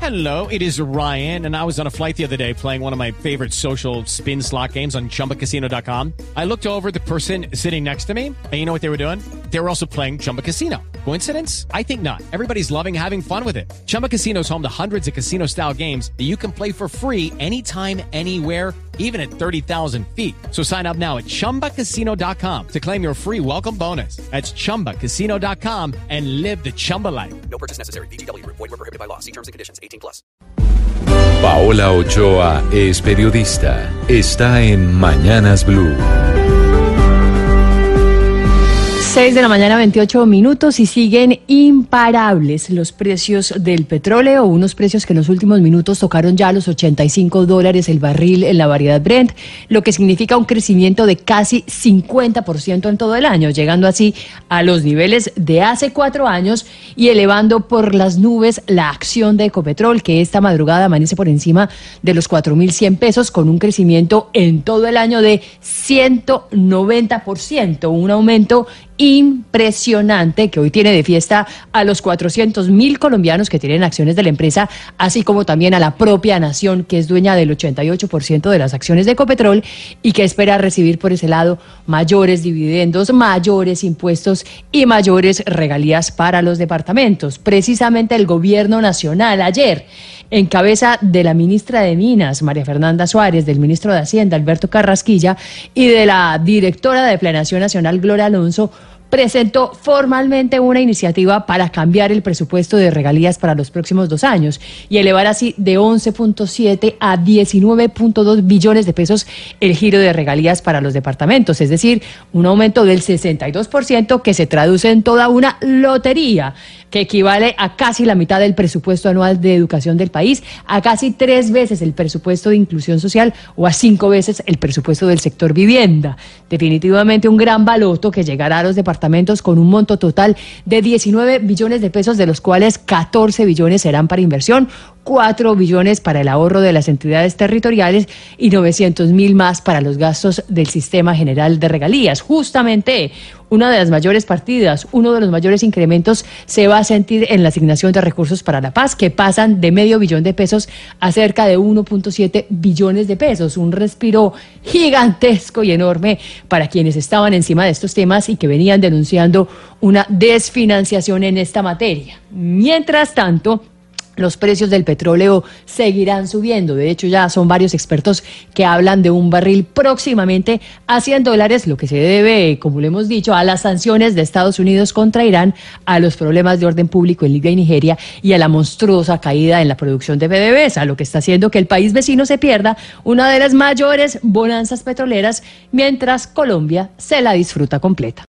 Hello, it is Ryan, and I was on a flight the other day playing one of my favorite social spin slot games on ChumbaCasino.com. I looked over at the person sitting next to me, and you know what they were doing? They were also playing Chumba Casino. Coincidence? I think not. Everybody's loving having fun with it. Chumba Casino is home to hundreds of casino-style games that you can play for free anytime, anywhere, even at 30,000 feet. So sign up now at ChumbaCasino.com to claim your free welcome bonus. That's ChumbaCasino.com and live the Chumba life. No purchase necessary. VGW. Void were prohibited by law. See terms and conditions. 18+. Paola Ochoa es periodista. Está en Mañanas Blue. 6 de la mañana, 28 minutos, y siguen imparables los precios del petróleo, unos precios que en los últimos minutos tocaron ya los $85 el barril en la variedad Brent, lo que significa un crecimiento de casi 50% en todo el año, llegando así a los niveles de hace 4 años y elevando por las nubes la acción de Ecopetrol, que esta madrugada amanece por encima de los 4.100 pesos, con un crecimiento en todo el año de 190%, un aumento impresionante que hoy tiene de fiesta a los 400.000 colombianos que tienen acciones de la empresa, así como también a la propia nación, que es dueña del 88% de las acciones de Ecopetrol y que espera recibir por ese lado mayores dividendos, mayores impuestos y mayores regalías para los departamentos. Precisamente el gobierno nacional ayer, en cabeza de la ministra de Minas, María Fernanda Suárez, del ministro de Hacienda, Alberto Carrasquilla, y de la directora de Planeación Nacional, Gloria Alonso, presentó formalmente una iniciativa para cambiar el presupuesto de regalías para los próximos 2 años y elevar así de 11.7 a 19.2 billones de pesos el giro de regalías para los departamentos, es decir, un aumento del 62% que se traduce en toda una lotería, que equivale a casi la mitad del presupuesto anual de educación del país, a casi 3 veces el presupuesto de inclusión social o a 5 veces el presupuesto del sector vivienda. Definitivamente un gran baloto que llegará a los departamentos con un monto total de 19 billones de pesos, de los cuales 14 billones serán para inversión, 4 billones para el ahorro de las entidades territoriales y 900.000 más para los gastos del Sistema General de Regalías. Justamente una de las mayores partidas, uno de los mayores incrementos se va a sentir en la asignación de recursos para la paz, que pasan de $500 millón a cerca de 1.7 billones de pesos. Un respiro gigantesco y enorme para quienes estaban encima de estos temas y que venían denunciando una desfinanciación en esta materia. Mientras tanto, los precios del petróleo seguirán subiendo. De hecho, ya son varios expertos que hablan de un barril próximamente a $100, lo que se debe, como lo hemos dicho, a las sanciones de Estados Unidos contra Irán, a los problemas de orden público en Libia y Nigeria y a la monstruosa caída en la producción de PDVSA, lo que está haciendo que el país vecino se pierda una de las mayores bonanzas petroleras, mientras Colombia se la disfruta completa.